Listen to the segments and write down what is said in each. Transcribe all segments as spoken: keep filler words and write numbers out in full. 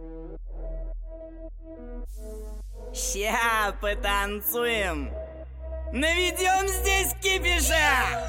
Ща потанцуем, наведем здесь кипиша.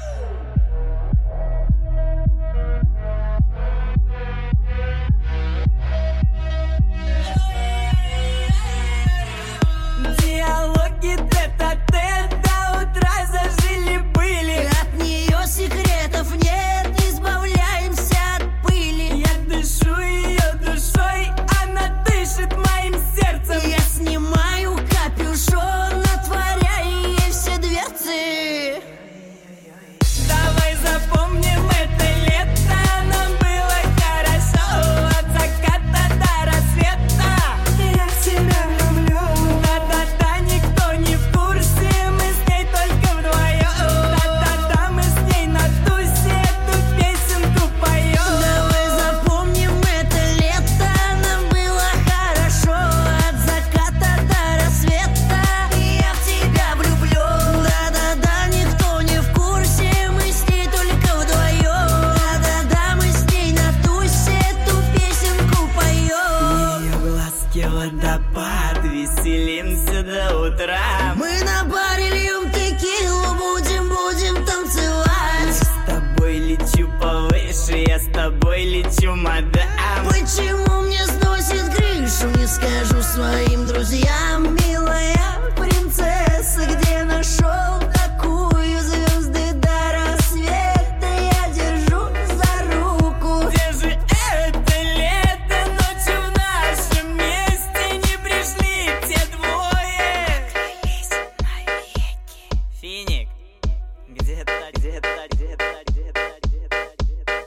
Диалоги тет-а-тет до утра зажили-были. От нее секретов нет, избавляемся от пыли. Я дышу ее душой, она дышит моим сердцем. Я снимаю капюшон, отворяя ей все дверцы. Давай запомним это лето, нам было хорошо. От заката до рассвета я в тебя люблю. Да-да-да, никто не в курсе, мы с ней только вдвоем. Да-да-да, мы с ней на тусе эту песенку поем. Давай запомним это лето, нам было хорошо. От заката до рассвета я в тебя влюблю. Да-да-да, никто не в курсе, мы с ней только вдвоем. Да-да-да, мы с ней на тусе эту песенку поем. В ее глазке водопад, веселимся до утра. Мы на баре льем текилу, будем, будем танцевать. С тобой лечу повыше, я с тобой лечу, мадам. Почему мне сносит крышу, не скажу своим друзьям. Милая принцесса, где нашел такую? Звезды до рассвета я держу за руку. Где же это лето, ночью в нашем месте не пришли те двое. Клялись навеки. Финик, где-то, где-то, где-то, где-то, где-то, где-то.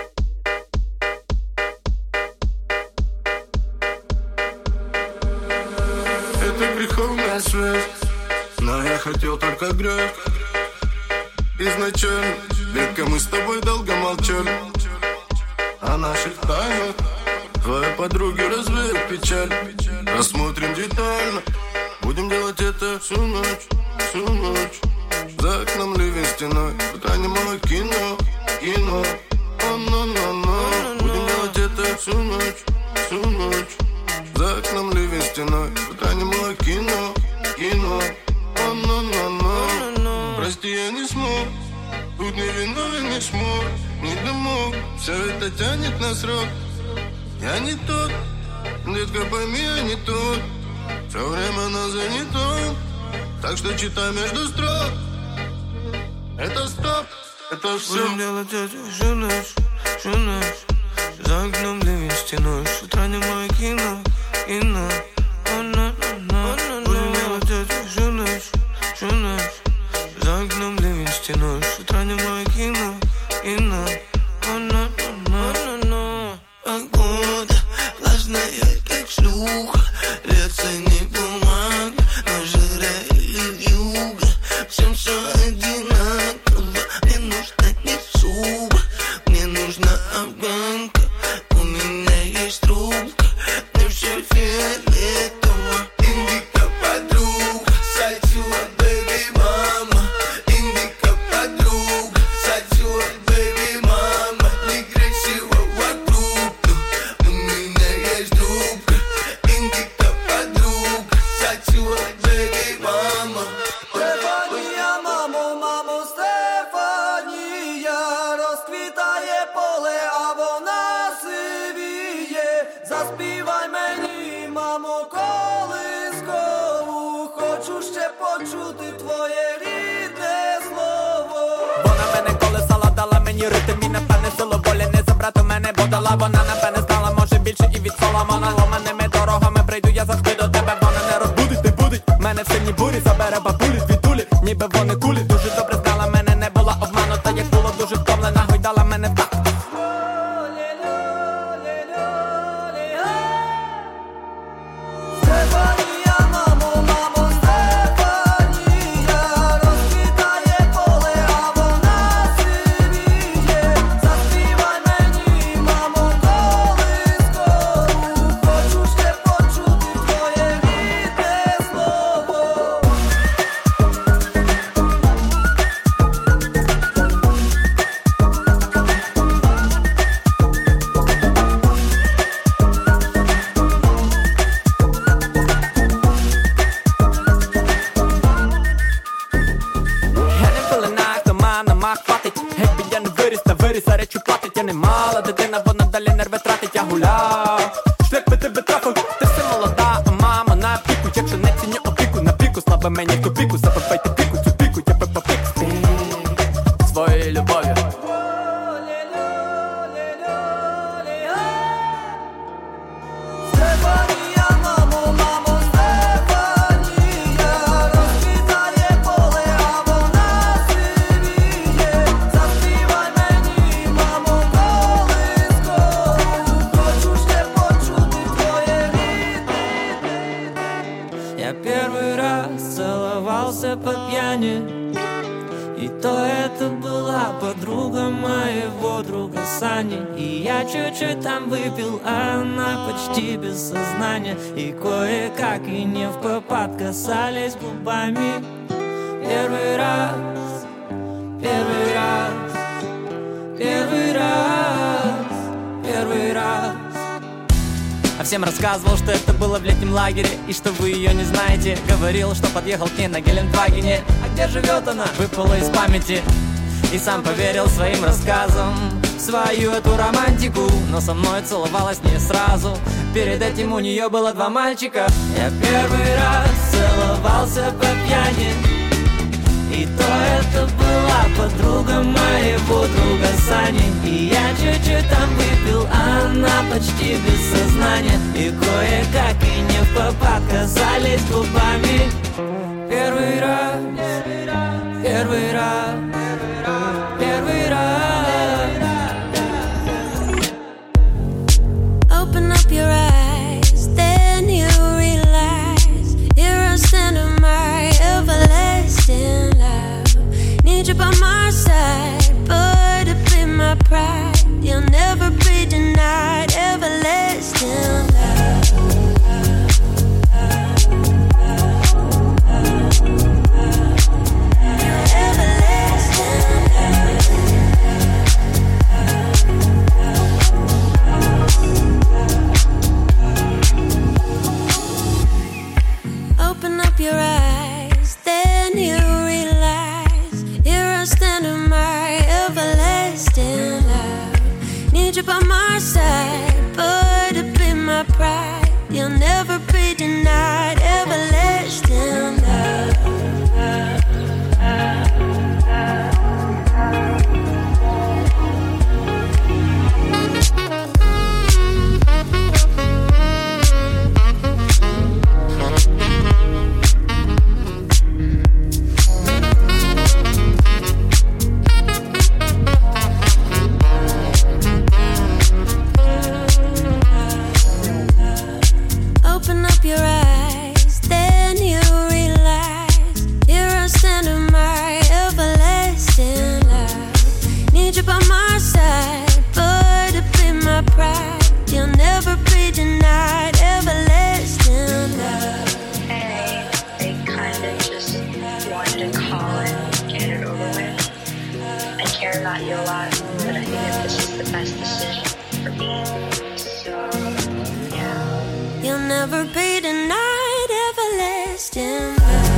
Это греховная связь, но я хотел только грех. Изначально, редко мы с тобой долго молчали о наших тайнах. Твои подруги развеют печаль. Рассмотрим детально, будем делать это всю ночь, всю ночь. За окном ливень стеной, в экране мое кино, кино. О-но-но-но. Будем делать это всю ночь, всю ночь. За окном ливень стеной, в экране мое кино, кино. О-но-но-но. Прости, я не смог, тут не виновен, не смог, не домог. Все это тянет на срок. Я не тот, детка, пойми, я не тот. Все время нас занято, так что читай между строк. Это стоп, это все. Будем делать это всю ночь, всю ночь. За окном ливень стеной, с утра не мое кино, кино. Будем делать это всю ночь, всю ночь. За окном ливень стеной, с утра не мое кино, кино. Погода влажная, как шлюха. Льется не бумага, но жира или юга. Всем все одинаково. Мне нужна не суба, мне нужна афганка. У меня есть трубка, мне все фиолетово. Индика подруга, сатила, бэби, мама. Индика подруга, сатила, бэби, мама. Некрасиво вокруг, у меня есть трубка. Индика подруга, сатила, бэби, мама. Стефания, мамо, мамо, Стефания, розквітає поле, а вона сивіє. Заспівай мені, мамо, колискову, хочу ще почути твоє рідне слово. Вона мене колесала, дала мені ритм і напевне силу волі не забрати мене, бо дала вона напевне знала, може більше і від Соломона. Ломаними дорогами прийду я завжди до тебе, вона не розбудить, не будить мене в сильній бурі, забере бабулі, звідулі, ніби вони кулі. Дуже добре знала мене, не була обманута, як було дуже втомлена, гойдала мене в так. Стефанія, мамо, мамо, Стефанія, розквітає поле, а вона сивіє. Заспівай мені, мамо, колискову, хочу ще почути твоє рідне слово. ума хватить. Геть я не виріс, та виріс, а речі платить. Я не мала дитина, вона далі нерви тратить. Я гуляв, шлях би тебе трафив. Ти все молода, а мама на піку. Якщо не ціню опіку, на піку, слава мені в тупіку. Забивайте піку, цю піку, я пепа пік. Своєю любов'ю. По пьяни, и то это была подруга моего друга Сани. И я чуть-чуть там выпил, а она почти без сознания. И кое-как и не в попад касались губами. Первый раз, первый раз, первый раз, первый раз. А всем рассказывал, что это было в летнем лагере, и что вы ее не знаете. Говорил, что подъехал к ней на Гелендвагене. А где живет она? Выпало из памяти. И сам поверил своим рассказам в свою эту романтику. Но со мной целовалась не сразу. Перед этим у нее было два мальчика. Я первый раз целовался по пьяни, и то это была подруга моего друга Сани. И я чуть-чуть там выпил, а она почти без сознания. И кое-как и не в попад касались губами. Первый раз, первый раз, первый раз. Open up your eyes, then you realize you're a stand of my everlasting love. Need you by my side, but to be my pride. You'll never be denied everlasting love. Open up your eyes, then you realize you're a stand of my everlasting love. Need you by my side, but to be my pride. You'll never be denied everlasting love. Open up your eyes, then you realize you're a stand of my everlasting love. Need you by my side, but to be my pride. You'll never be denied everlasting love. And they, they kind of just wanted to call it, get it over with. I care about you a lot, but I think that this is the best decision for me. So, yeah. You'll never be denied everlasting love.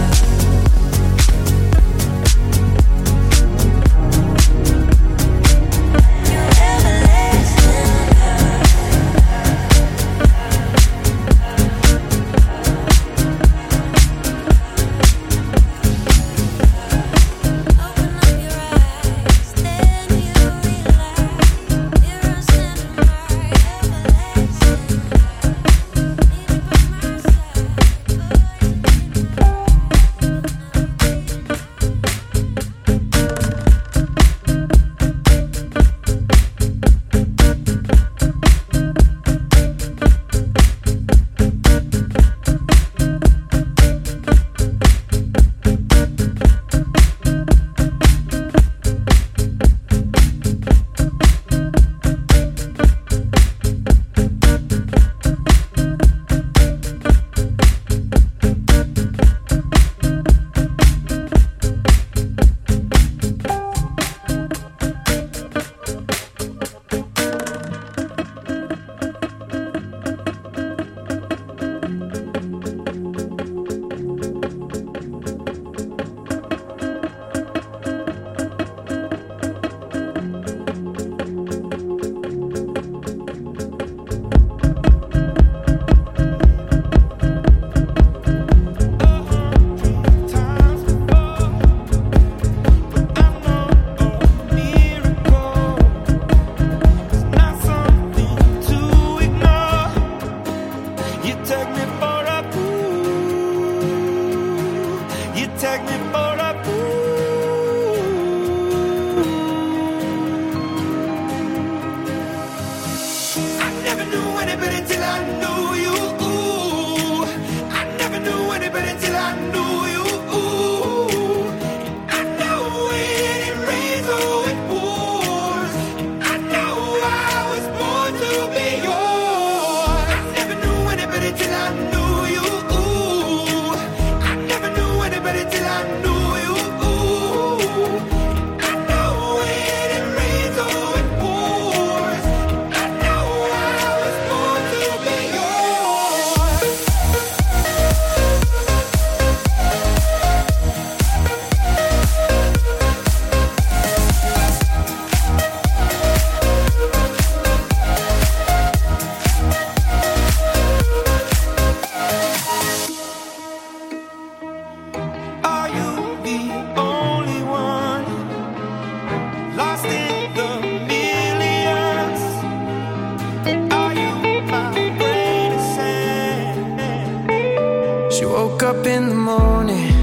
up in the morning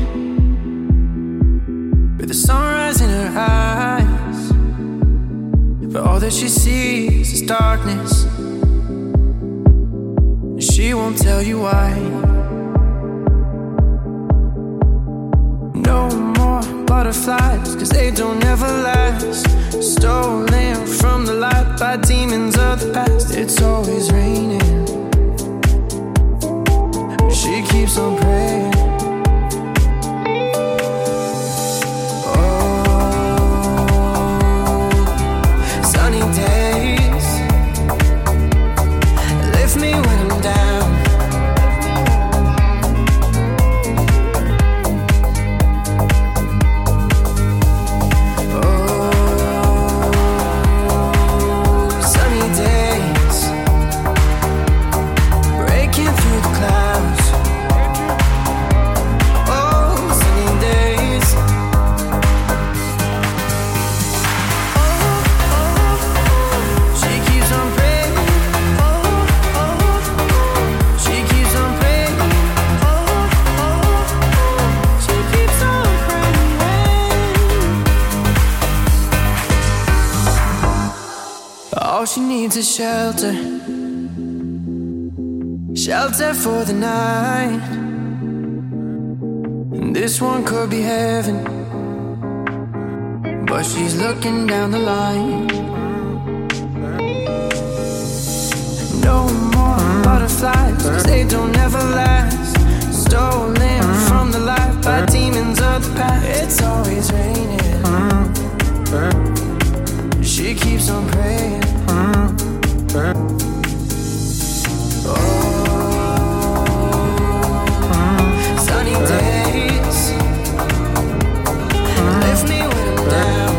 with the sunrise in her eyes, but all that she sees is darkness. She won't tell you why. No more butterflies, cause they don't ever last. Stolen from the light by demons of the past. It's always raining. She keeps on praying. Oh, sunny days lift me when I'm down. Oh, sunny days breaking through the clouds. All she needs is shelter, shelter for the night. And this one could be heaven, but she's looking down the line. No more butterflies, cause they don't ever last. Stolen from the light by demons of the past. It's always raining. She keeps on praying. Oh, sunny days lift me when I'm down.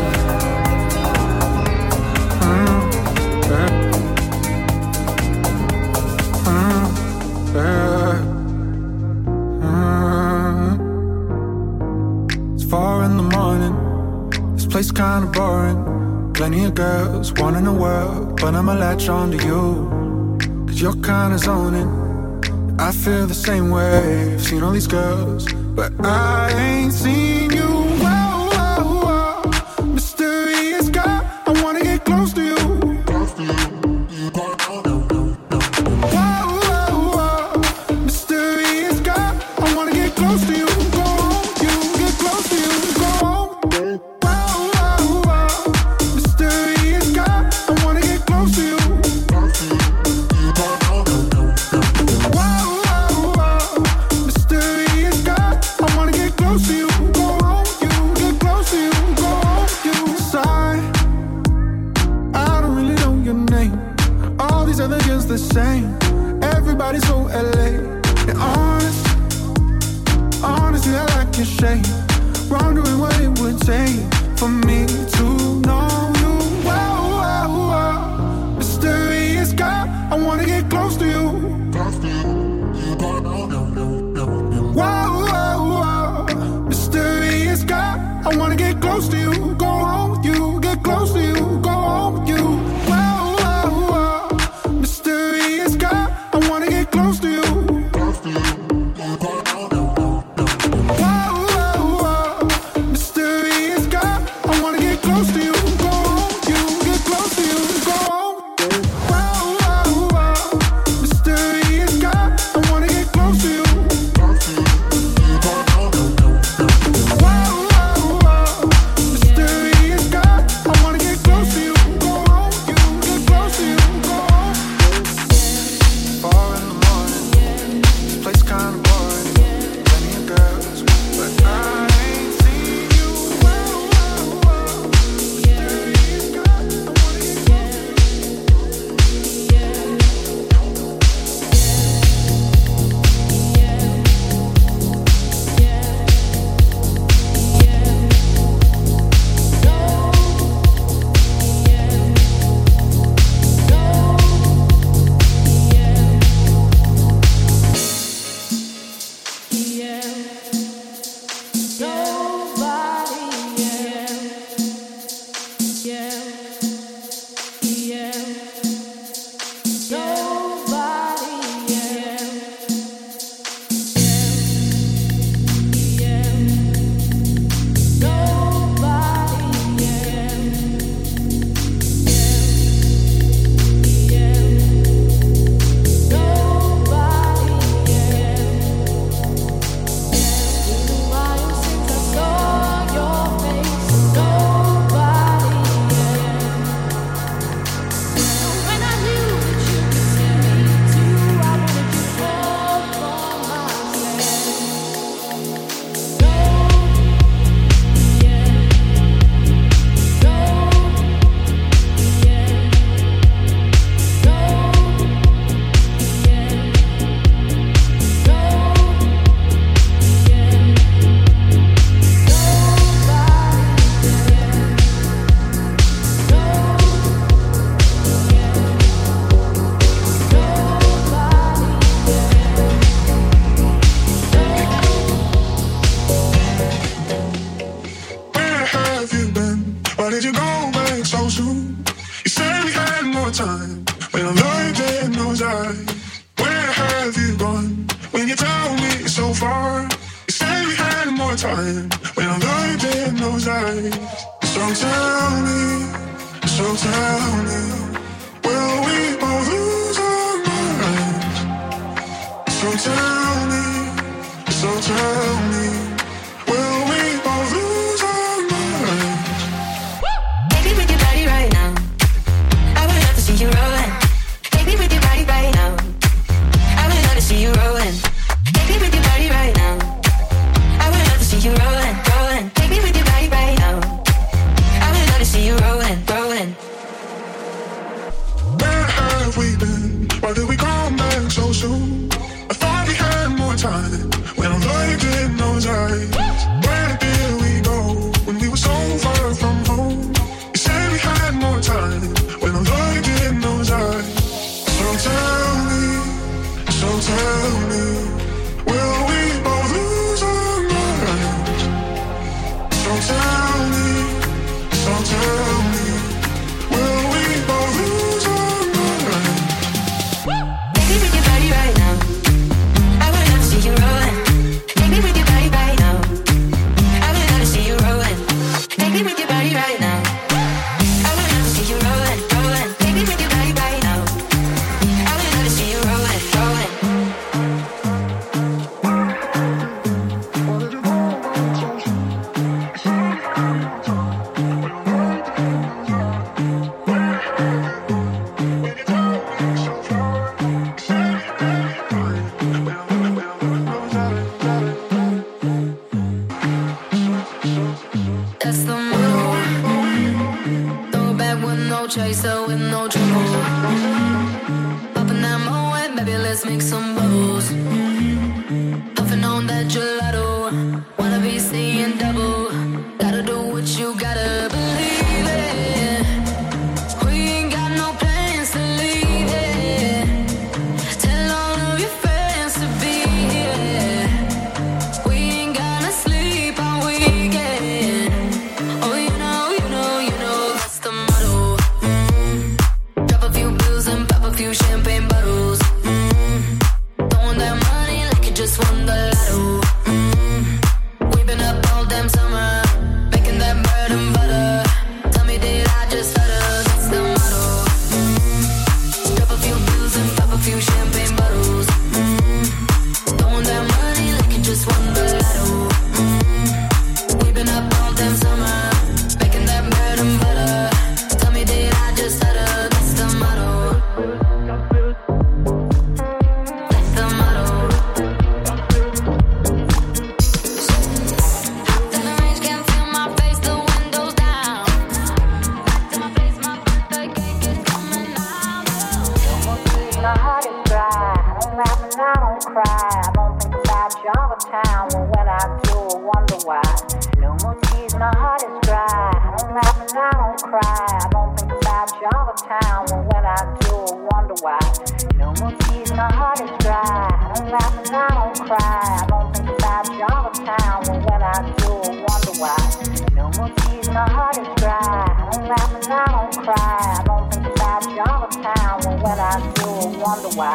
It's four in the morning. This place kinda boring. Plenty of girls wanting the world, but I'ma latch on to you, cause you're kinda zoning. I feel the same way. I've seen all these girls, but I ain't seen you. Whoa, whoa, whoa. Mysterious guy, I wanna get close to you. Whoa, whoa, whoa. Mysterious guy, I wanna get close to you. Go home, you get close to you. Go home. The same, everybody's so L A. And honest, honestly, I like your shape. Wondering what it would take for me to know you. Whoa, whoa, whoa. Mysterious guy, I wanna get close to you. Whoa, whoa, whoa. Mysterious guy, I wanna get close to you. Go home with you, get close to you. Go home with you. Close to you. Whoa, whoa, whoa. Mysterious guy, I wanna get close to you. time when I'm lying in those eyes. Where have you gone when you tell me so far? You said we had more time when I'm lying in those eyes. So tell me, so tell me, will we both lose our minds? So tell me, so tell me, will we both lose our minds? Baby, with your body right now, I would love to see you rolling. Baby, with your body right now, I would love to see you rolling. Baby, with your body right now, I would love to see you rolling, rolling. Baby, with your body right now, I would love to see you rolling, rolling. Where have we been? Why did we come back so soon? I thought we had more time when I'm looked in those eyes. Where did we go when we were so far from home? You said we had more time when I'm looked in those eyes. So tell me, so tell me, will we both lose our minds? So tell me, so tell me, will we both lose our minds? Baby, with your body right now, I would love to see you rolling. Baby, with your body right now, I would love to see you rolling. Baby, with your body right now, I would love to see you rolling, rolling. Baby, with your body right now, I would love to see you rolling, rolling. That's the motto. Throw it back with no chaser, with no trouble. Popping that Moet, baby, let's make some bubbles. Puffing on that gelato, wanna be seeing double. Gotta do what you gotta believe it. We ain't got no plans to leave it. Tell all of your friends to be here. We ain't gonna sleep all weekend. Oh, you know, you know, you know, that's the motto. Mm. Drop a few bills and pop a few champagne bottles. Mm. Throwing that money like you just won the lotto. Mm. We've been up all damn summer, making that bread and butter. Tell me, did I just stutter? That's the motto. Mm. Drop a few bills and pop a few champagne bottles. Mm. Throwing that money like you just won the lotto. Mm. We've been up all damn summer, making that bread and butter. Tell me, did I just stutter? That's the motto. That's the motto. Hopped in the range, can't feel my face, the windows down. Back to my place, my birthday cake is coming out. My heart is dry. I don't laugh and I don't cry. I don't think about you all the time. Well, when I do, I wonder why. No more tears, my heart is dry. I don't laugh and I don't cry. I don't think about you all the time. Well, when I do, I wonder why. No more tears, my heart is dry. I don't laugh and I don't cry. I don't think about you all the time. Well, when I do, I wonder why. No more tears, my heart is dry. I don't laugh and I don't cry. I don't think about you all the time. Well, when I do, I wonder why.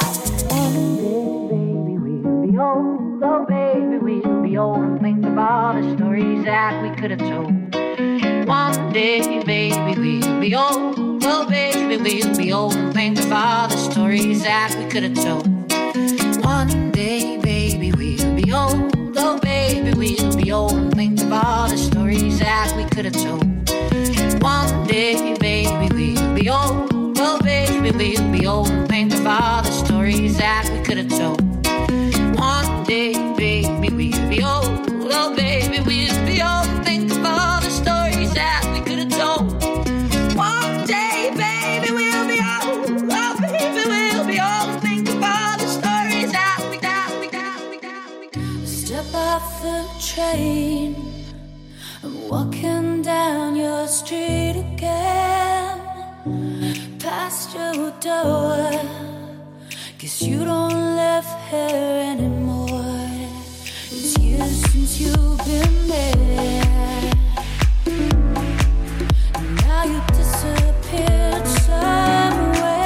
Oh, baby, we'll be old and think of all the stories that we could have told. One day, baby, we'll be old. Oh, baby, we'll be old and think of all the stories that we could have told. One day, baby, we'll be old. Oh, baby, we'll be old and think of all the stories that we could have told. One day, baby, we'll be old. Oh, baby, we'll be old and think of all the stories that we could have told. One day, baby, we'll be old. Oh, baby, we'll be old and think of all the stories that we could have told. One day, baby, we'll be old. Oh, baby, we'll be old and think of all the stories that we, that we, that we, that we. Step off the train. I'm walking down your street again. Past your door. Guess you don't live here anymore. It's years since you've been there. And now you disappeared somewhere.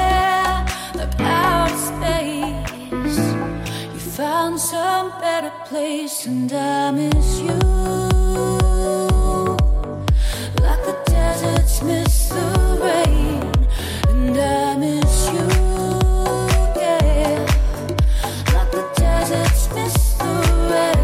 place, and I miss you like the deserts miss the rain, and I miss you, yeah, like the deserts miss the rain.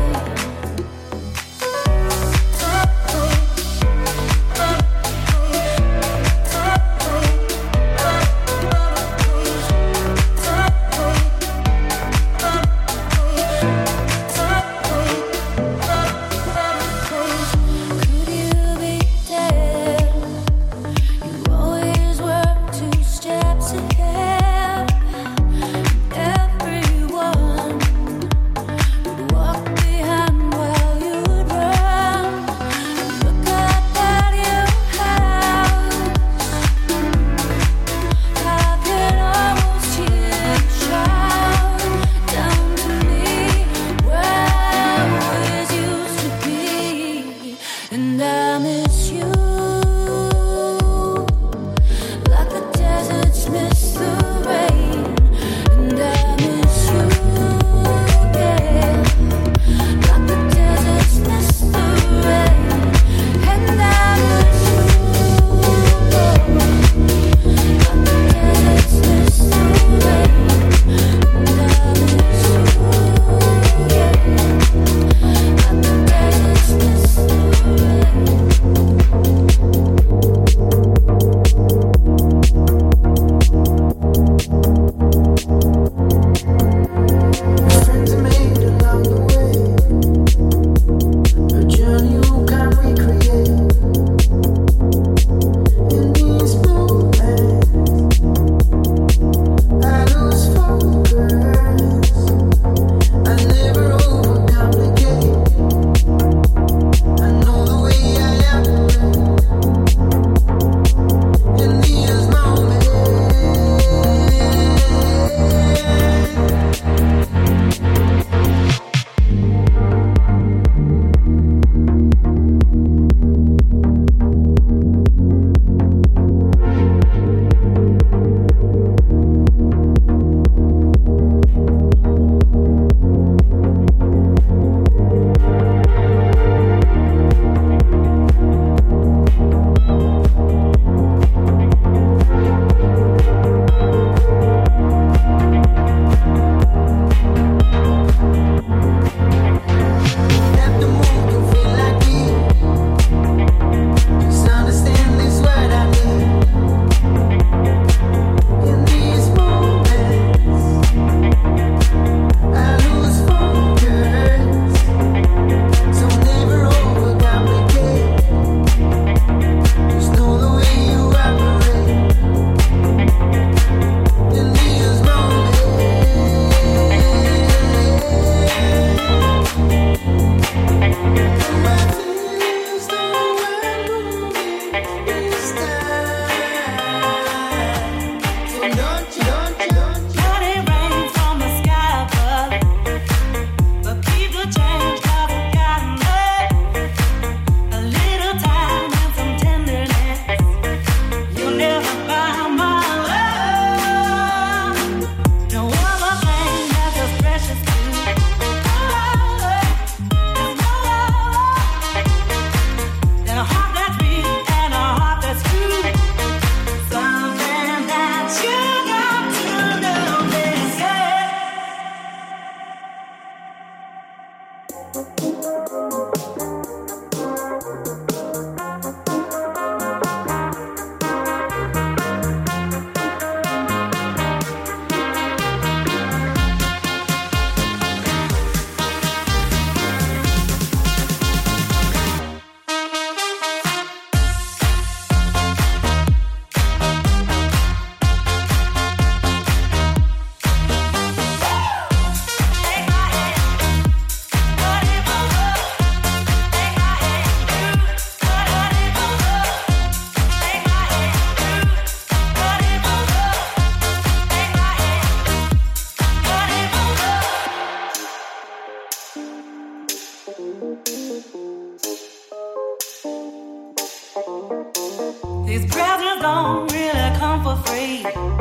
These presents don't really come for free.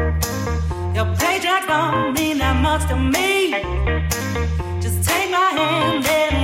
Your paycheck don't mean that much to me. Just take my hand and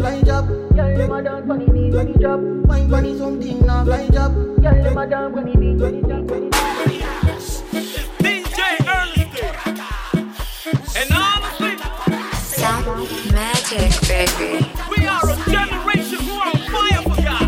fly job. Girl, them a dance funny beat when he drop. Wine funny something now fly job. Girl, them a dance funny beat when he drop. D J Ernest and honestly, Sound magic, baby. we are a generation who are on fire for God.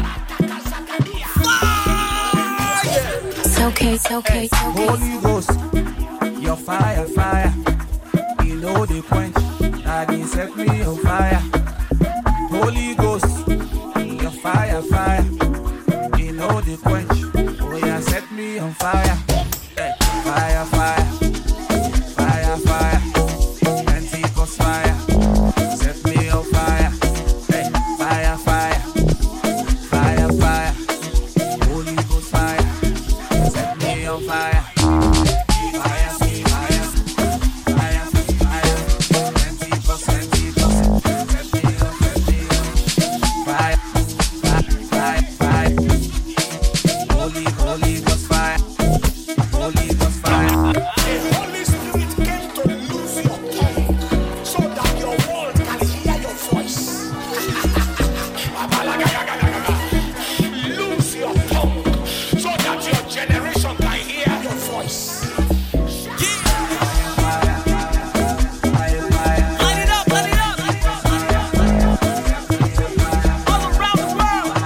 Fire! It's okay, it's okay, it's okay. Holy Ghost, your fire, fire. You know the quench, that they set me on fire. Holy Ghost, your fire, fire. You know the quench, oh yeah, set me on fire. Hey, fire, fire, fire, fire. Pentecost fire, set me on fire. Hey, fire, fire, fire, fire. Holy Ghost fire, set me on fire. Fire, fire, fire, fire. Pentecost, Pentecost, set me on, set me on. Fire, fire, fire, fire. Holy, Holy Ghost fire, Holy Ghost fire. The Holy Spirit came to lose your tongue so that your world can hear your voice. Lose your tongue so that your generation can hear your voice. Light it up, light it up. All around the world.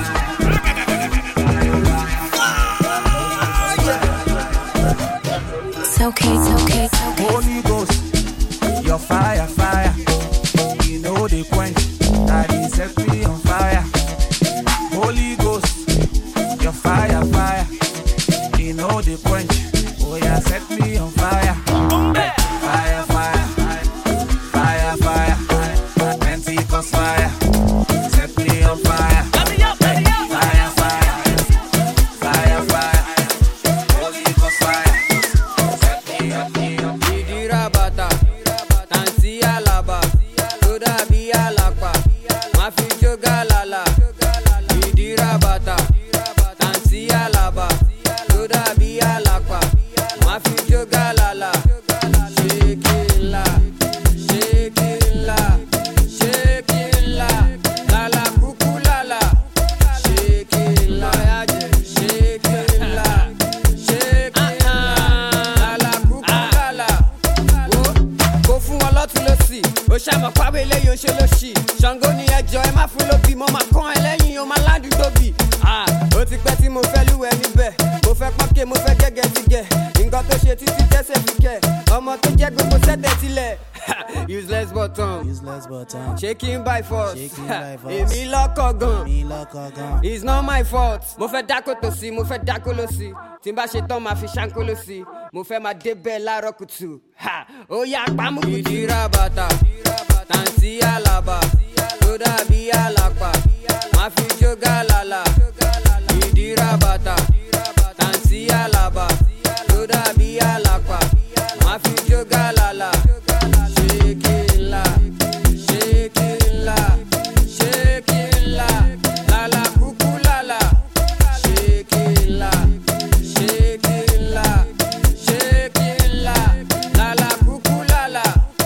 It's okay, it's okay, it's okay. Holy Ghost, your fire, fire. You know the quench, that he set me on fire. Holy Ghost, your fire, fire. You know the quench, oh yeah, set me on fire. Fire, fire, fire, fire. Pentecost fire, set me on fire. Light me up, light me up. Fire, fire, fire, fire. Holy Ghost fire, set me on fire. Idira bata, tansi alaba, toda bi alapa, mafi joga lala. Idira bata, tansi alaba, toda bi alapa, mafi joga lala. Shake it la, shake it la, shake it la, lala kuku lala. Shake it la, shake it la, shake it la, lala kuku lala. Kò fún wọn lọ́tún lọ́sì ó ṣàmọ̀ pàwé eléyìí ó ṣe lóṣì Ṣàngó ni ẹjọ́ ẹ má fún lóbì mo máa kán ẹ lẹ́yìn ó máa ládùúgbò bì. Ó ti pẹ́ tí mo fẹ́ lúwẹ̀ níbẹ̀ mo fẹ́ pọ́nkẹ́ mo fẹ́ gẹ́gẹ́ ti gẹ̀ nǹkan tó ṣe títí tẹ́sẹ̀ fi kẹ̀ ọmọ tó jẹ́ gbogbo sẹ́tẹ̀ tilẹ̀. Useless button, Useless button, shaking by force, Shaking by force. èmi lọ́kọ̀ gan. me lọ́kọ̀ gan. It's not my fault. Mo fẹ́ dákó tó sí, mo fẹ́ dákó ló sí. Tí n bá ṣe tán, máa fi ṣáńkó ló sí. Mo fẹ́ máa débẹ̀ láàárọ̀ kùtù. Ha! Ó yá pamọ́ kùtù. Ìdíra bàtà, tàǹtí àlàbà, tó dàbí àlàpà. Máa fi jógà lálà. Ìdíra bàtà, tàǹtí àlàbà, tó dàbí àlàpà. Máa fi jógà lálà. Shake it la, shake it la, shake it la, lala kuku lala. Shake it la, shake it la, shake it la, lala kuku lala.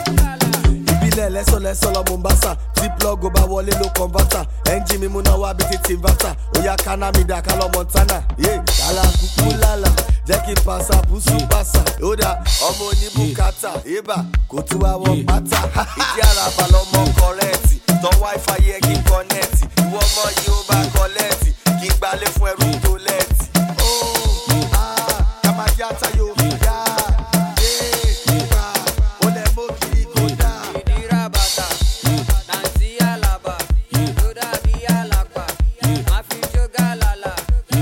Ìbílẹ̀ lẹ́sọ̀lẹ́sọ̀ lọ Mombasa tí plug ó bá wọlé ló converter ẹ́ńjì mi múná wá bí ti inverter Oya kana mi dà ká lọ Montana lálá kúkú lálá jẹ́ kí n pàṣà bùsù pàṣà ó dà ọmọ oníbùkátà ibà kò tún wá wọ pátá ìdí àràbà lọmọ kọrẹ́ẹ̀tì tán wáífà yẹ kí n kọ́nẹ́ẹ̀tì ìwọ ọmọ yìí ó bá kọ́lẹ́ẹ̀tì kí n gbalé fún ẹrú tó lẹ́ẹ̀tì. ó ká máa yá tayo yá yé gbà ó lẹ̀ mọ́ kiri kó dà. Ìdíra bàtà, tàǹtí àlàbà, tó dàbí àlàpà. Máa fi jógà lálà.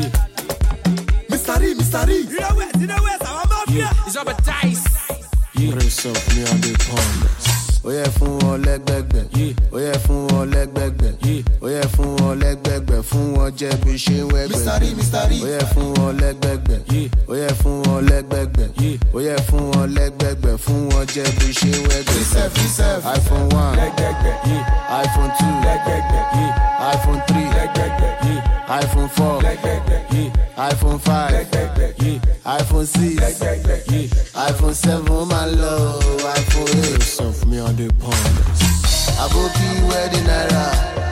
Mister E, Mister E. You know where, you know where, our mafia. It's up a dice. Race up me on the pond. Ó yẹ fún wọn lẹ́gbẹ̀gbẹ̀, ó yẹ fún wọn lẹ́gbẹ̀gbẹ̀, ó yẹ fún wọn lẹ́gbẹ̀gbẹ̀, fún wọn jẹ́ bí ṣe ń wẹ́gbẹ̀. Mister E, Mister E. Ó yẹ fún wọn lẹ́gbẹ̀gbẹ̀, ó yẹ fún wọn lẹ́gbẹ̀gbẹ̀, ó yẹ fún wọn lẹ́gbẹ̀gbẹ̀, fún wọn jẹ́ bí ṣe ń wẹ́gbẹ̀. iPhone one, iPhone two, iPhone three, iPhone four, iPhone five, iPhone six, iPhone seven, my love, iPhone eight. Some for me on the pond. Aboki wedding era.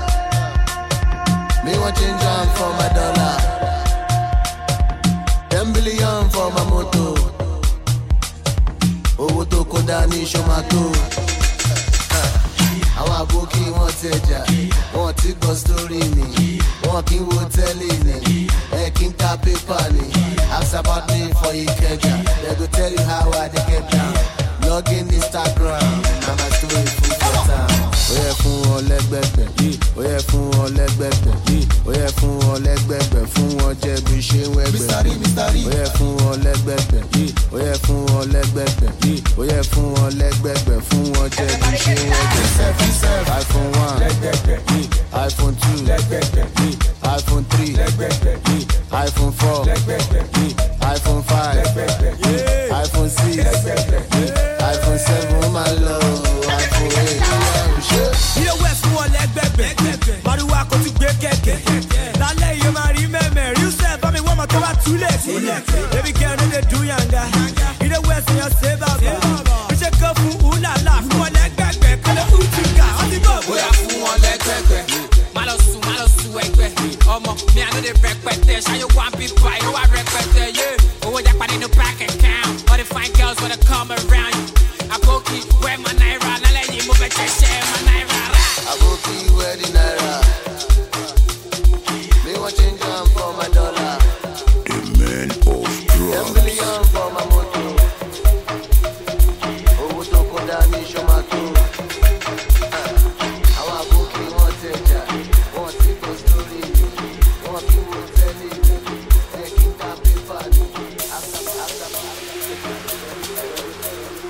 ti gbọ́ story ni. Wọ́n kí n wo tẹ́lẹ̀ ni. Ẹ kí n ta pépà ni. Ask about me for Ikeja. They go tell you how I dey get down. Log in Instagram. Na my story full for town. Ó yẹ fún wọn lẹ́gbẹ̀gbẹ̀. Ó yẹ fún wọn lẹ́gbẹ̀gbẹ̀. Ó yẹ fún wọn lẹ́gbẹ̀gbẹ̀. Fún wọn jẹ bí ṣe ń wẹ́gbẹ̀. Ó yẹ fún wọn lẹ́gbẹ̀gbẹ̀. Ó yẹ fún wọn lẹ́gbẹ̀gbẹ̀. Ó yẹ fún wọn lẹ́gbẹ̀gbẹ̀. Fún wọn jẹ bí ṣe ń wẹ́gbẹ̀. iPhone one, iPhone two, iPhone three, iPhone four, iPhone five, iPhone six, iPhone seven, my love, iPhone eight. Ilé wẹ̀ fún wọn lẹ́gbẹ̀gbẹ̀, Màrúwá kò ti gbé kẹ̀kẹ́. Lálẹ́ yìí máa rí mẹ́mẹ́, rí sẹ́ẹ̀ bá mi wọ́n mọ̀ tó bá túlẹ̀. Baby girl no dey do yanga, ilé wẹ̀ sí yan ṣé bàbá. Bí ṣe kọ́ fún Ulala, fún wọn lẹ́gbẹ̀gbẹ̀, kọ́lé Utuka, wọ́n ti bọ̀. Bóyá fún wọn lẹ́gbẹ̀gbẹ̀, má lọ sùn, má lọ sùn ẹgbẹ́. Ọmọ mi àná lè rẹpẹtẹ, ṣáyé wá bí báyìí, ó wà rẹpẹtẹ, yé. Owó jápa nínú bank account, all the fine girls wanna come around you. Àbókí, where my naira, lálẹ́ yìí mo fẹ́ ṣẹ̀ṣẹ̀ my naira rà. Àbókí, where the naira? Me want change am for my dollar. The man of drugs. Ten billion for my motor. Owó tó kó dání ṣọ́mátó. Àwọn àbókí wọn tẹ̀jà, wọn ti gbọ́ sórí mi. Wọ́n kí wọ́n tẹ́lẹ̀ mi. Ẹ kí n ta pépà ni.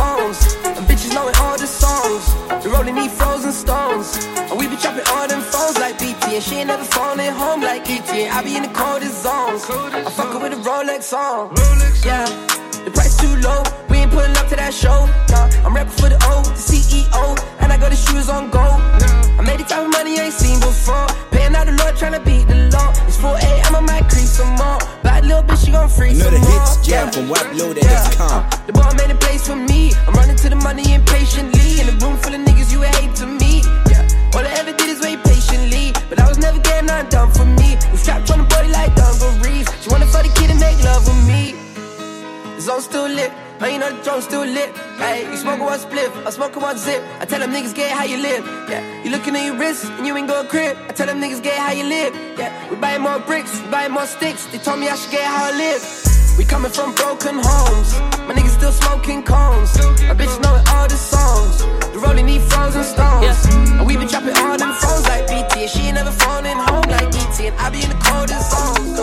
cones. And bitches knowing all the songs. The rolling need frozen stones. And we be trapping all them phones like B T. And she ain't never phoning home like E T. And I be in the coldest zones. I fuck her with a Rolex on. Yeah, the price too low. We ain't pulling up to that show. Nah, I'm rapping for the O, the C E O. And I got the shoes on gold. I made the type of money I ain't seen before. Paying out the Lord, tryna beat the law. It's four a.m. I might crease some more. Bad little bitch, she gon' free some more. Know the hits jam from Wap Loaded dot com. Uh, the boy made a place for me. I'm running to the money impatiently. In a room full of niggas, you would hate to me. Yeah, all I ever did is wait patiently. But I was never getting nothing done for me. We strapped on the body like dungarees. She wanna fuck the kid and make love with me. The zone still lit. Oh, you know the drone still lit. Hey, you smoking one spliff, I smoking one zip. I tell them niggas get how you live. Yeah, you looking at your wrist and you ain't go crib. I tell them niggas get how you live. Yeah, we buying more bricks, we buying more sticks. They told me I should get how I live. We coming from broken homes. My niggas still smoking cones. My bitch knowing all the songs. The rolling need frozen stones. Yeah. And we been trapping all them phones like B T. And she ain't never phoning home like E T. And I be in the coldest zones.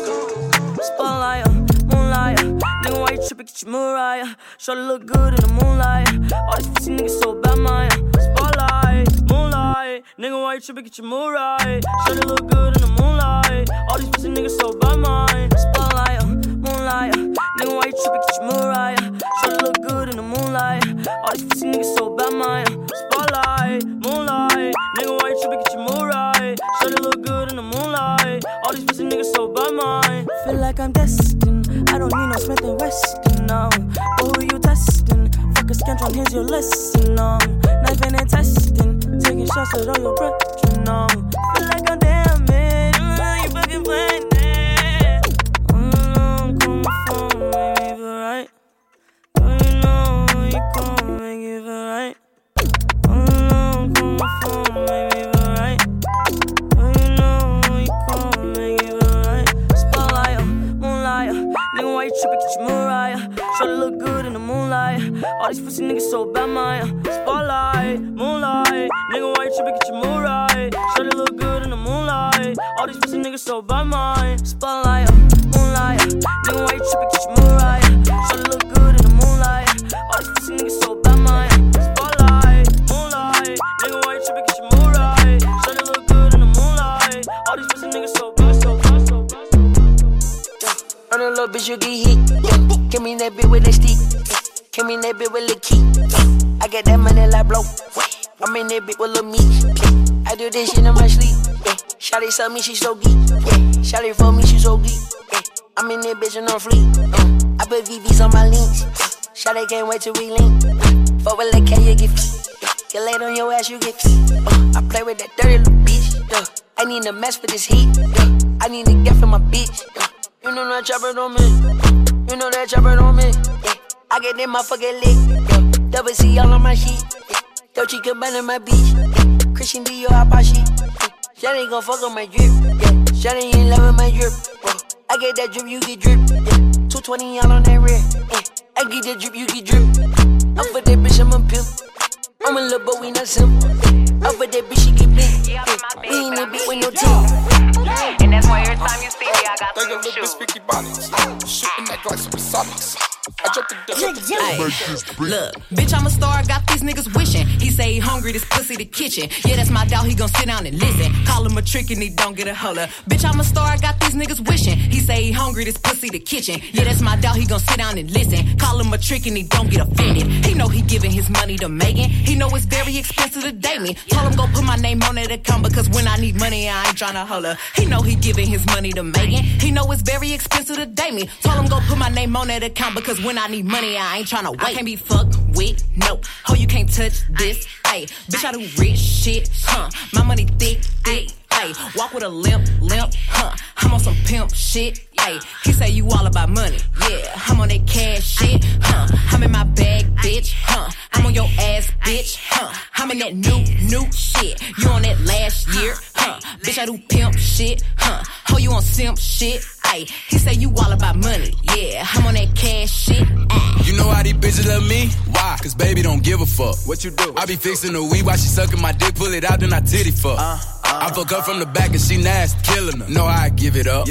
Spotlight, moonlight. Nigga, why you trippin', get your Mariah. Shawty look good in the moonlight. All these pussy niggas so bad, Maya. Spotlight, moonlight. Nigga, why you trippin', get your Mariah. Shawty look good in the moonlight. All these pussy niggas so bad, Maya. Spotlight, moonlight. Nigga, why you trippin', get your Mariah. Shawty look good in the moonlight. All these pussy niggas so bad, Maya. Spotlight, moonlight. Nigga, why you trippin', get your Mariah. Shawty look good in the moonlight. All these pussy niggas so bad, Maya. Feel like I'm destined. I don't need no Smith and Weston, no. But who you testing? Fuck a scantron, here's your lesson, no. Knifing and testing, taking shots at all your breath, you know. Feel like I'm damaged, mm, you fucking playing it. Mm, come phone, make me feel right. Don't you know you come make me feel right. Mm, come phone, make me feel right. Don't you know you come make me feel right. Spotlight, moonlight. Nigga, why you trippin', get your Mariah. Shawty look good in the moonlight. All these pussy niggas so bad, Maya. Spotlight, moonlight. Nigga, why you trippin', get your Mariah. Shawty look good in the moonlight. All these pussy niggas so bad, Maya. Spotlight, moonlight. Nigga, why you trippin', get your Mariah. Shawty look good in the moonlight. All these pussy niggas so bad, Maya. Spotlight, moonlight. Nigga, why you trippin', get your Mariah. Shawty look good in the moonlight. All these pussy niggas so bad, so bad, so bad. Run a little bitch, you get hit. Yeah. Give me that bitch with that stick. Yeah. Give me that bitch with the key. Yeah. I get that money like blow. I'm in that bitch with little meat. Yeah. I do this shit in my sleep. Yeah. Shawty saw me, she so geek. Yeah. Shawty for me, she so geek. Yeah. I'm in that bitch and on fleek. Yeah. I put V Vs on my links. Yeah. Shawty can't wait to re-link. Yeah. Fuck with that K, you get feet. Yeah. Get laid on your ass, you get feet. Uh. I play with that dirty little bitch. Yeah. I need a mess for this heat. Yeah. I need to get for my bitch. Yeah. You know that chopper on me. You know that chopper on me. Yeah. I get that motherfucker lick. Yeah. Double C all on my sheet. Yeah. Dolce Gabbana in my beach. Yeah. Christian Dior out my sheet. Yeah. Shawty gon' fuck on my drip. Yeah. Shawty in love with my drip. Whoa. I get that drip, you get drip. Yeah. two twenty all on that rear. Yeah. I get that drip, you get drip. I'm for that bitch, I'm a pimp. I'm a little but we not simple. Yeah. I'm for that bitch, she get big. Yeah. We ain't that bitch with no team. And that's why every time you see me, I got some shoes. Speaky bonnets, shooting that like supersonics. I dropped the Ay, look, bitch, I'm a star, got these niggas wishing. He say he hungry, this pussy the kitchen. Yeah, that's my dog, he gon' sit down and listen. Call him a trick and he don't get a holler. Bitch, I'm a star, got these niggas wishing. He say he hungry, this pussy the kitchen. Yeah, that's my dog, he gon' sit down and listen. Call him a trick and he don't get offended. He know he giving his money to Megan. He know it's very expensive to date me. Told him go put my name on that account because when I need money, I ain't tryna holler. He know he giving his money to Megan. He know it's very expensive to date me. Told him go put my name on that account because when I need money, I ain't tryna wait. I can't be fucked with, no. Ho, you can't touch this, ayy. Bitch, I do rich shit, huh? My money thick, thick, ayy. Walk with a limp, limp, huh? I'm on some pimp shit, ayy. He say you all about money, yeah. I'm on that cash shit, huh? I'm in my bag, bitch, huh? I'm on your ass, bitch, huh? I'm in that new, new shit. You on that last year, huh? Bitch, I do pimp shit, huh? Ho, you on simp shit, ayy. He say you all about money, yeah. I'm on that cash shit, ayy. You know how these bitches love me? Why? Cause baby don't give a fuck. What you do? I be fixing the weed while she sucking my dick, pull it out, then I titty fuck. Uh, uh, I fuck her from the back and she nasty, killing her. Know how I give it up. Yeah.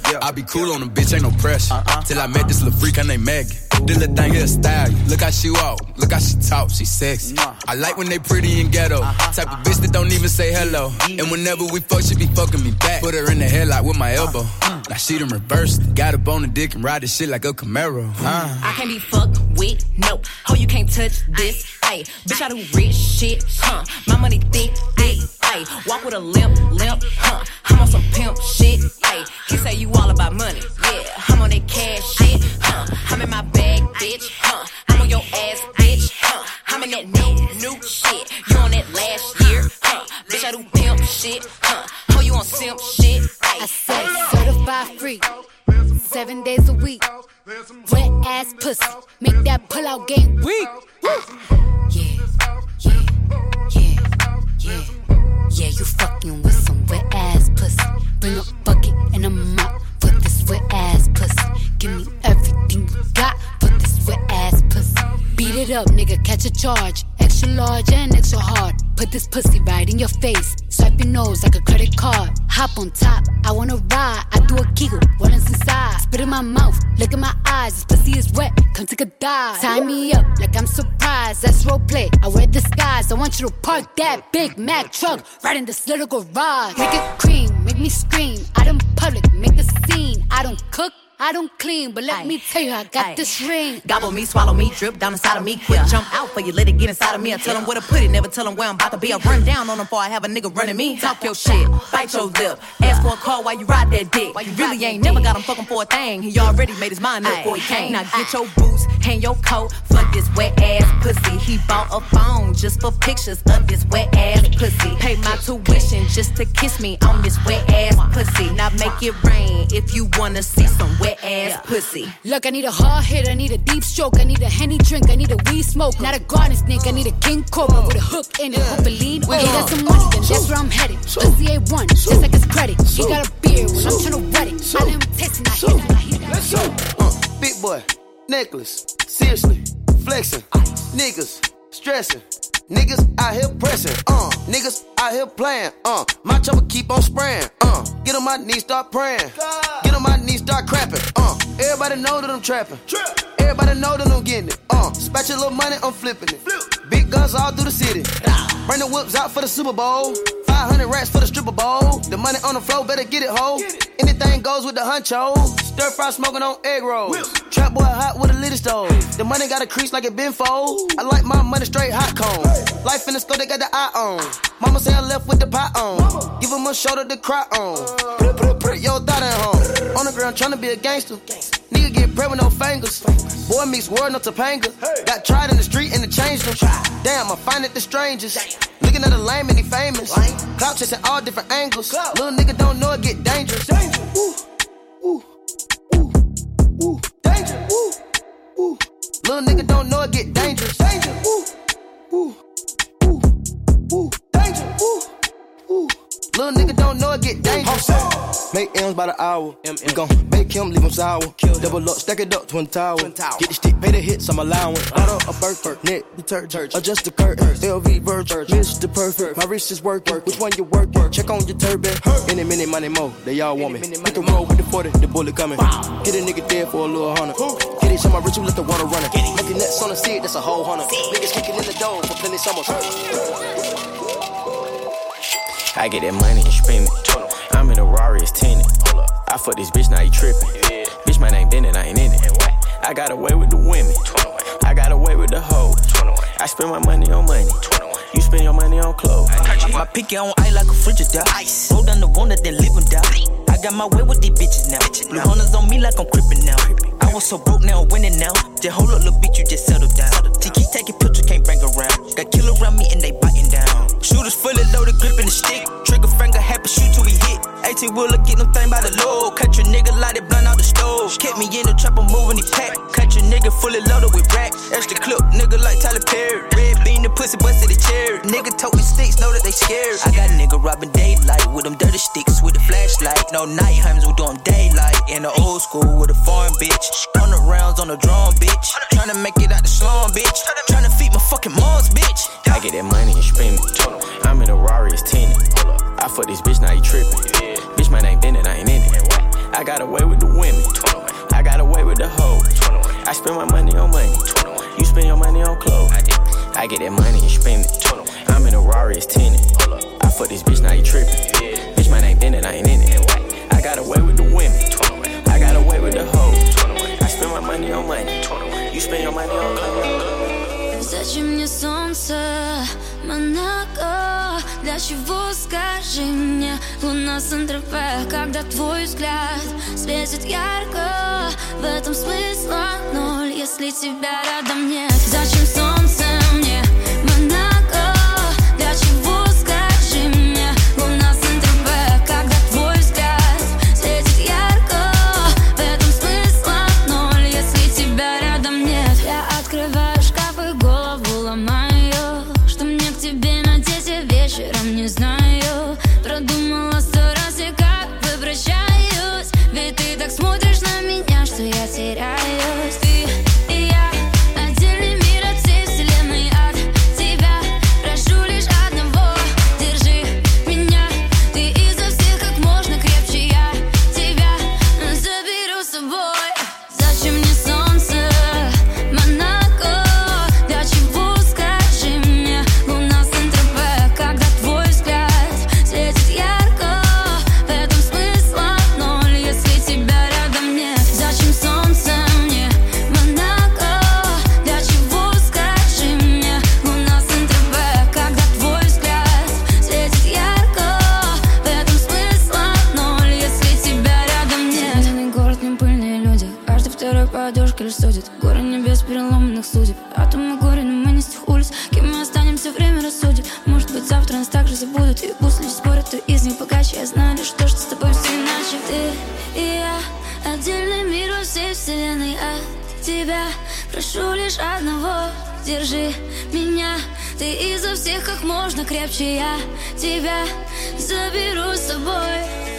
I be cool on them, bitch, ain't no pressure. Uh-uh. Till I met this little freak, her name Megan. This little thing here style. Look how she walk, look how she talk, she sexy. I like when they pretty and ghetto. Uh-huh. Type of bitch that don't even say hello. And whenever we fuck, she be fucking me back. Put her in the headlock with my elbow. Uh-huh. Now she done reversed. Got up on the dick and ride this shit like a Camaro. Uh. I can't be fucked with, no. Oh, you can't touch this. Ay, bitch, I do rich shit, huh? My money thick, thick, ay. Walk with a limp, limp, huh? I'm on some pimp shit, ay. He say you all about money, yeah. I'm on that cash shit, huh? I'm in my bag, bitch, huh? I'm on your ass, bitch, huh? I'm in that new, new shit. You on that last year, huh? Bitch, I do pimp shit, huh? Oh, you on simp shit, ay. I said certified free, seven days a week. Wet ass pussy, make that pull out game weak. Yeah, yeah, yeah, yeah. Yeah, you fucking with some wet ass pussy. Bring a bucket and a mop for this wet ass pussy. Give me everything you got for this wet ass pussy. Beat it up, nigga, catch a charge. Extra large and extra hard. Put this pussy right in your face. Swipe your nose like a credit card. Hop on top, I wanna ride. I do a giggle, what is inside? Spit in my mouth, look in my eyes. This pussy is wet, come take a dive. Tie me up like I'm surprised. That's roleplay, I wear disguise. I want you to park that Big Mac truck right in this little garage. Make it cream, make me scream. Out in public, make a scene. I don't cook, I don't clean, but let Aye. me tell you, I got Aye. this ring. Gobble me, swallow me, drip down inside of me. Quick jump out for you, let it get inside of me. I tell them where to put it, never tell them where I'm about to be. I run down on them before I have a nigga running me. Talk your shit, bite your lip. Ask for a call while you ride that dick. You really ain't never got him fucking for a thing. He already made his mind up before he came. Now get your boots, hang your coat for this wet ass pussy. He bought a phone just for pictures of this wet ass pussy. Pay my tuition just to kiss me on this wet ass pussy. Now make it rain if you wanna see some wet ass pussy. Look, I need a hard hit, I need a deep stroke, I need a Henny drink, I need a weed smoke. Not a garden snake, I need a king cobra with a hook in it. Hope it lean, oh, he got some money, then that's where I'm headed. Pussy A one, just like his credit. He got a beard when I'm tryna wet it. I let him taste it, now he got, he got. Let's go. Uh, big boy, necklace, seriously, flexing, niggas, stressing. Niggas out here pressing, uh, niggas out here playing, uh, my chopper keep on spraying, uh, get on my knees, start praying, get on my knees, start crapping, uh, everybody know that I'm trapping, everybody know that I'm getting it, uh, spatch your little money, I'm flipping it, big guns all through the city, bring the whips out for the Super Bowl, five hundred racks for the stripper bowl, the money on the floor, better get it, ho, anything goes with the huncho, stir fry smoking on egg rolls, trap boy hot with a little stove, the money got a crease like it been fold, I like my money straight hot cone. Life in the scope, they got the eye on. Mama say I left with the pot on. Give him a shoulder to cry on. Put, put, put your thought at home. On the ground tryna be a gangster. Nigga get prey with no fingers. Boy meets world, no Topanga. Got tried in the street and it changed them. Damn, I find it the strangest. Looking at a lame and he famous. Clout chasing all different angles. Little nigga don't know it get dangerous. Ooh, ooh, ooh, ooh, danger. Ooh, ooh. Little nigga don't know it get dangerous. Danger. Ooh, ooh. Ooh, danger, ooh, ooh. Little nigga don't know it get dangerous. Make M's by the hour. M -M. We gon' make him leave him sour. Kill Double up, stack it up, twin tower. Twin tower. Get the stick, pay the hits, I'm allowance. Bought up a Burke, neck detergent. Adjust the curtain, L V Virgin. Mister Perfect, my wrist is working. Which one you work? Check on your turban. Any minute, money more, they all want me. Hit the road with the forty, the bullet coming. Get a nigga dead for a little hundred. Get it, show my ritual, let the water run it. Making nets on the seat, that's a whole hundred. Niggas kicking in the door for plenty summers. I get that money and spend it. I'm in a Rari, it's tinted. I fuck this bitch, now he trippin'. Bitch, my name Bennett, I ain't in it. I got away with the women. I got away with the hoes. I spend my money on money. You spend your money on clothes. My picky on ice like a Frigidaire. Roll down the one that then live and die. I got my way with these bitches now. Blue hunters on me like I'm crippin' now. I was so broke now, winning now. Just hold up, little bitch, you just settle down. T-Key taking pictures, can't bring around. Got kill around me and they biting down. Shooters fully loaded, gripping the stick. Trigger finger happy, shoot till we hit. eighteen wheeler, get them thing by the load. Cut your nigga, light it blunt out the stove. Kept me in the trap, I'm moving the pack. Cut your nigga fully loaded with racks. Extra clip, nigga like Tyler Perry. Red bean, the pussy busted the cherry. Nigga told me sticks, know that they scared. I got nigga robbing daylight with them dirty sticks with the flashlight. No night times, we doing daylight. In the old school with a foreign bitch. On the rounds on the drum, bitch. Tryna make it out the slum, bitch. Tryna feed my fucking moms, bitch. I get that money and spend it. I'm in a Rari, it's tinted. I fuck this bitch, now he trippin'. Bitch, my name Bennett, I ain't in it. I got away with the women. I got away with the hoes. I spend my money on money. You spend your money on clothes. I get that money and spend it. I'm in a Rari, it's tinted. I fuck this bitch, now you trippin'. Bitch, my name Bennett, I ain't in it. I got away with the women. I got away with the hoes. I spend my money on money. You spend your money on clothes. Зачем мне солнце, Монако? Для чего, скажи мне, луна Сан-Тропе? Когда твой взгляд светит ярко, в этом смысла ноль, если тебя рядом нет. Зачем солнце мне, Монако? Для чего, скажи мне, луна Сан-Тропе? Когда твой взгляд светит ярко, в этом смысла ноль, если тебя рядом нет. Я открываю шкаф и голову ломаю, что мне к тебе надеть я вечером не знаю. Продумала сто раз и как возвращаюсь, ведь ты так смотришь на меня, что я теряюсь. Ты и я отдельный мир от всей вселенной, от тебя прошу лишь одного: держи меня, ты изо всех как можно крепче, я тебя заберу с собой. Зачем мне солнце, Монако? Для чего, скажи мне, луна Сан-Тропе? Когда твой взгляд светит ярко, в этом смысла ноль, если тебя рядом нет. Зачем солнце мне, Монако? Для чего, скажи мне, луна Сан-Тропе? Когда твой взгляд светит ярко, в этом смысла ноль, если тебя рядом нет. Зеленый город, не пыльные люди, каждый второй подушка лишь судит. Горы небес переломанных судеб, атомы горя, но мы не с тех улиц. Кем мы останемся, время рассудит. Может быть, завтра нас также забудут, и пусть лишь спорят, то из них богаче. Я знаю лишь то, что с тобой все иначе. Ты и я отдельный мир во всей вселенной, от тебя прошу лишь одного: держи меня, ты изо всех как можно крепче, я тебя заберу с собой.